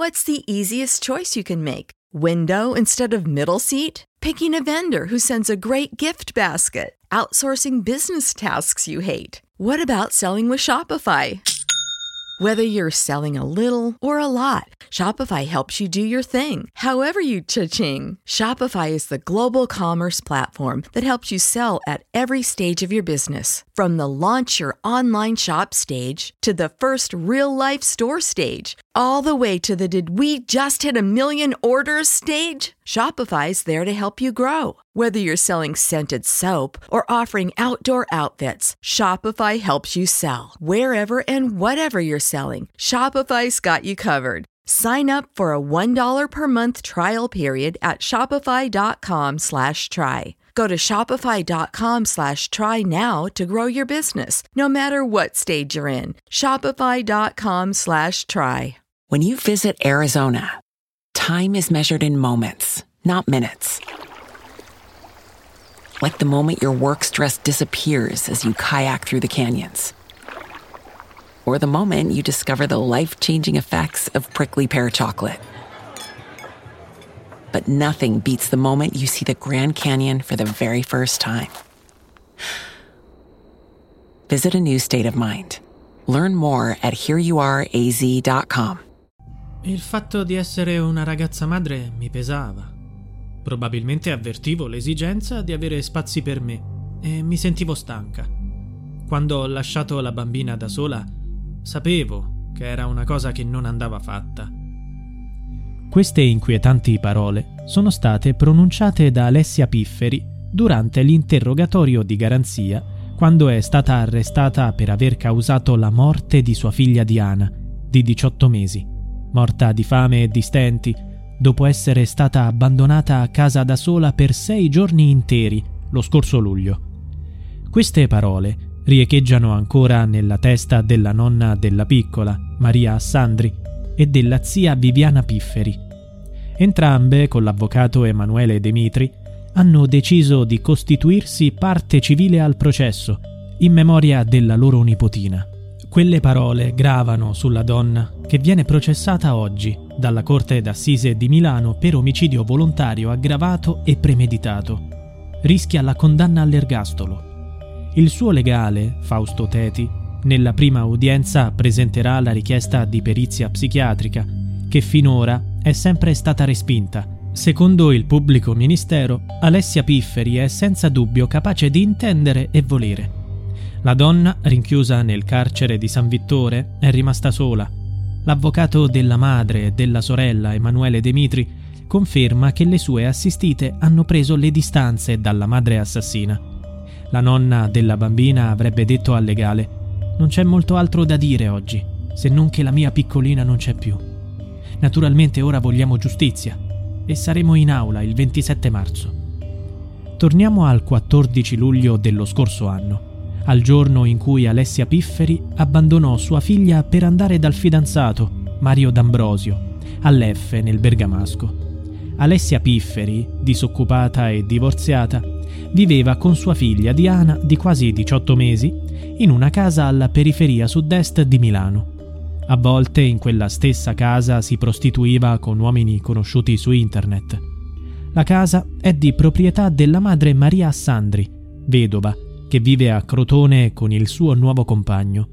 What's the easiest choice you can make? Window instead of middle seat? Picking a vendor who sends a great gift basket? Outsourcing business tasks you hate? What about selling with Shopify? Whether you're selling a little or a lot, Shopify helps you do your thing, however you cha-ching. Shopify is the global commerce platform that helps you sell at every stage of your business. From the launch your online shop stage to the first real-life store stage, all the way to the did we just hit a million orders stage. Shopify's there to help you grow. Whether you're selling scented soap or offering outdoor outfits, Shopify helps you sell. Wherever and whatever you're selling, Shopify's got you covered. Sign up for a $1 per month trial period at shopify.com/try. Go to shopify.com/try now to grow your business, no matter what stage you're in. Shopify.com/try. When you visit Arizona, time is measured in moments, not minutes. Like the moment your work stress disappears as you kayak through the canyons. Or the moment you discover the life-changing effects of prickly pear chocolate. But nothing beats the moment you see the Grand Canyon for the very first time. Visit a new state of mind. Learn more at hereyouareaz.com. Il fatto di essere una ragazza madre mi pesava. Probabilmente avvertivo l'esigenza di avere spazi per me e mi sentivo stanca. Quando ho lasciato la bambina da sola, sapevo che era una cosa che non andava fatta. Queste inquietanti parole sono state pronunciate da Alessia Pifferi durante l'interrogatorio di garanzia quando è stata arrestata per aver causato la morte di sua figlia Diana, di 18 mesi, morta di fame e di stenti, dopo essere stata abbandonata a casa da sola per 6 giorni interi lo scorso luglio. Queste parole riecheggiano ancora nella testa della nonna della piccola, Maria Assandri, e della zia Viviana Pifferi. Entrambe, con l'avvocato Emanuele Demitri, hanno deciso di costituirsi parte civile al processo, in memoria della loro nipotina. Quelle parole gravano sulla donna che viene processata oggi dalla Corte d'Assise di Milano per omicidio volontario aggravato e premeditato. Rischia la condanna all'ergastolo. Il suo legale, Fausto Teti, nella prima udienza presenterà la richiesta di perizia psichiatrica, che finora è sempre stata respinta. Secondo il pubblico ministero, Alessia Pifferi è senza dubbio capace di intendere e volere. La donna, rinchiusa nel carcere di San Vittore, è rimasta sola. L'avvocato della madre e della sorella, Emanuele Demitri, conferma che le sue assistite hanno preso le distanze dalla madre assassina. La nonna della bambina avrebbe detto al legale: «Non c'è molto altro da dire oggi, se non che la mia piccolina non c'è più. Naturalmente ora vogliamo giustizia e saremo in aula il 27 marzo». Torniamo al 14 luglio dello scorso anno, al giorno in cui Alessia Pifferi abbandonò sua figlia per andare dal fidanzato, Mario D'Ambrosio, all'F nel Bergamasco. Alessia Pifferi, disoccupata e divorziata, viveva con sua figlia Diana, di quasi 18 mesi, in una casa alla periferia sud-est di Milano. A volte in quella stessa casa si prostituiva con uomini conosciuti su internet. La casa è di proprietà della madre Maria Assandri, vedova, che vive a Crotone con il suo nuovo compagno.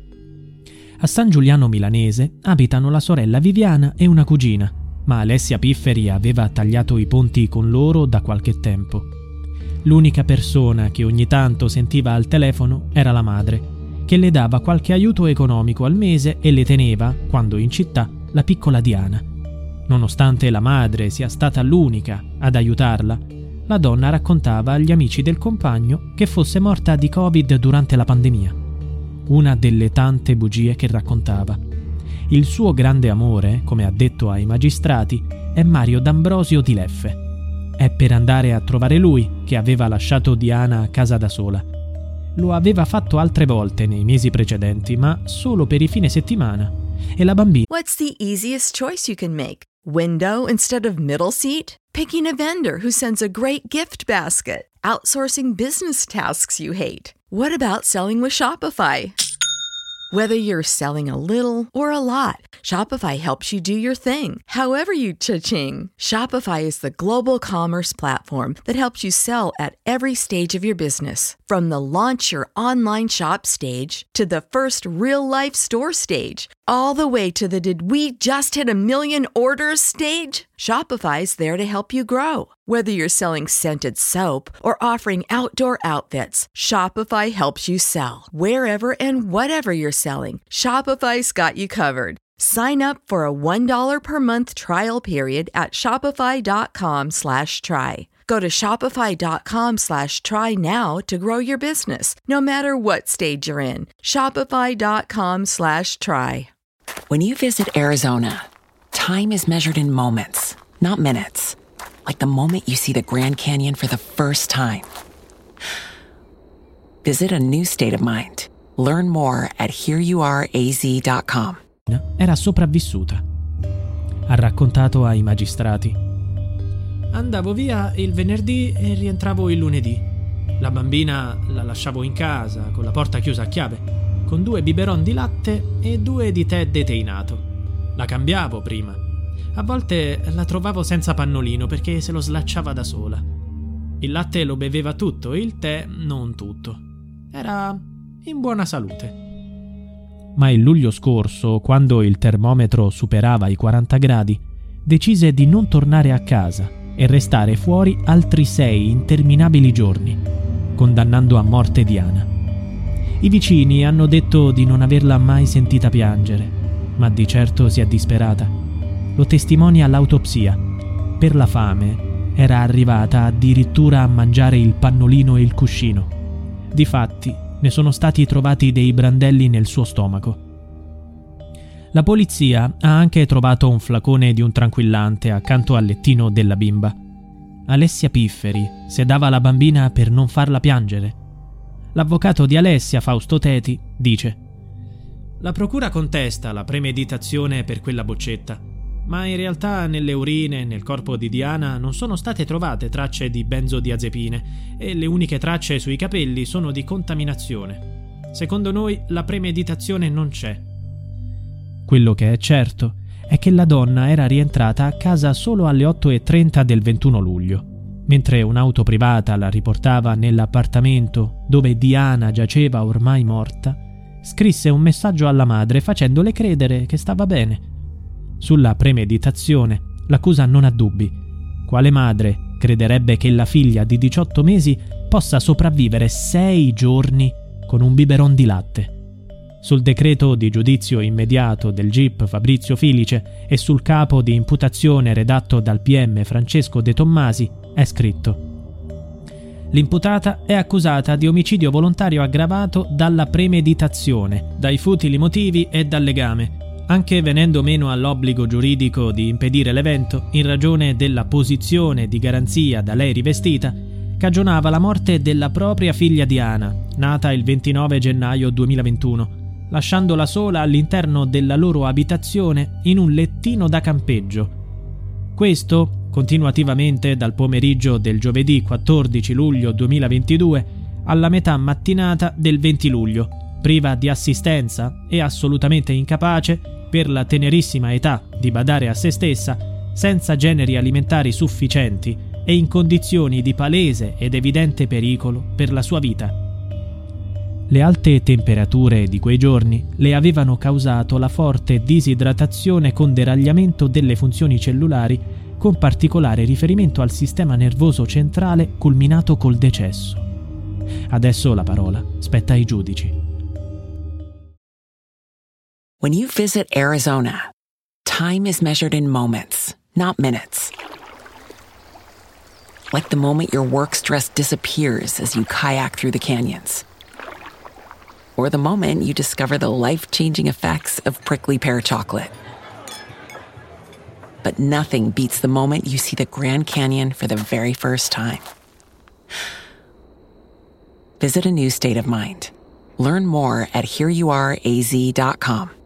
A San Giuliano Milanese abitano la sorella Viviana e una cugina, ma Alessia Pifferi aveva tagliato i ponti con loro da qualche tempo. L'unica persona che ogni tanto sentiva al telefono era la madre, che le dava qualche aiuto economico al mese e le teneva, quando in città, la piccola Diana. Nonostante la madre sia stata l'unica ad aiutarla, la donna raccontava agli amici del compagno che fosse morta di Covid durante la pandemia. Una delle tante bugie che raccontava. Il suo grande amore, come ha detto ai magistrati, è Mario D'Ambrosio di Leffe. È per andare a trovare lui che aveva lasciato Diana a casa da sola. Lo aveva fatto altre volte nei mesi precedenti, ma solo per i fine settimana. E la bambina... What's the easiest choice you can make? Window instead of middle seat? Picking a vendor who sends a great gift basket? Outsourcing business tasks you hate? What about selling with Shopify? Whether you're selling a little or a lot, Shopify helps you do your thing, however you cha-ching. Shopify is the global commerce platform that helps you sell at every stage of your business. From the launch your online shop stage to the first real-life store stage, all the way to the did we just hit a million orders stage. Shopify's there to help you grow. Whether you're selling scented soap or offering outdoor outfits, Shopify helps you sell. Wherever and whatever you're selling, Shopify's got you covered. Sign up for a $1 per month trial period at shopify.com/try. Go to shopify.com/try now to grow your business, no matter what stage you're in. Shopify.com/try. When you visit Arizona, time is measured in moments, not minutes. Like the moment you see the Grand Canyon for the first time. Visit a new state of mind. Learn more at hereyouareaz.com. Era sopravvissuta. Ha raccontato ai magistrati. Andavo via il venerdì e rientravo il lunedì. La bambina la lasciavo in casa, con la porta chiusa a chiave, con 2 biberon di latte e 2 di tè deteinato. La cambiavo prima. A volte la trovavo senza pannolino perché se lo slacciava da sola. Il latte lo beveva tutto, il tè non tutto. Era in buona salute. Ma il luglio scorso, quando il termometro superava i 40 gradi, decise di non tornare a casa e restare fuori altri 6 interminabili giorni, condannando a morte Diana. I vicini hanno detto di non averla mai sentita piangere, ma di certo si è disperata. Lo testimonia l'autopsia. Per la fame era arrivata addirittura a mangiare il pannolino e il cuscino. Difatti, ne sono stati trovati dei brandelli nel suo stomaco. La polizia ha anche trovato un flacone di un tranquillante accanto al lettino della bimba. Alessia Pifferi sedava la bambina per non farla piangere. L'avvocato di Alessia, Fausto Teti, dice: la procura contesta la premeditazione per quella boccetta, ma in realtà nelle urine e nel corpo di Diana non sono state trovate tracce di benzodiazepine e le uniche tracce sui capelli sono di contaminazione. Secondo noi la premeditazione non c'è. Quello che è certo è che la donna era rientrata a casa solo alle 8:30 del 21 luglio, mentre un'auto privata la riportava nell'appartamento dove Diana giaceva ormai morta. Scrisse un messaggio alla madre facendole credere che stava bene. Sulla premeditazione l'accusa non ha dubbi. Quale madre crederebbe che la figlia di 18 mesi possa sopravvivere 6 giorni con un biberon di latte? Sul decreto di giudizio immediato del GIP Fabrizio Filice e sul capo di imputazione redatto dal PM Francesco De Tommasi è scritto: l'imputata è accusata di omicidio volontario aggravato dalla premeditazione, dai futili motivi e dal legame, anche venendo meno all'obbligo giuridico di impedire l'evento in ragione della posizione di garanzia da lei rivestita, cagionava la morte della propria figlia Diana, nata il 29 gennaio 2021, lasciandola sola all'interno della loro abitazione in un lettino da campeggio. Questo continuativamente dal pomeriggio del giovedì 14 luglio 2022 alla metà mattinata del 20 luglio, priva di assistenza e assolutamente incapace, per la tenerissima età, di badare a se stessa, senza generi alimentari sufficienti e in condizioni di palese ed evidente pericolo per la sua vita. Le alte temperature di quei giorni le avevano causato la forte disidratazione con deragliamento delle funzioni cellulari, con particolare riferimento al sistema nervoso centrale culminato col decesso. Adesso la parola spetta ai giudici. When you visit Arizona, time is measured in moments, not minutes. Like the moment your work stress disappears as you kayak through the canyons. Or the moment you discover the life-changing effects of prickly pear chocolate. But nothing beats the moment you see the Grand Canyon for the very first time. Visit a new state of mind. Learn more at hereyouareaz.com.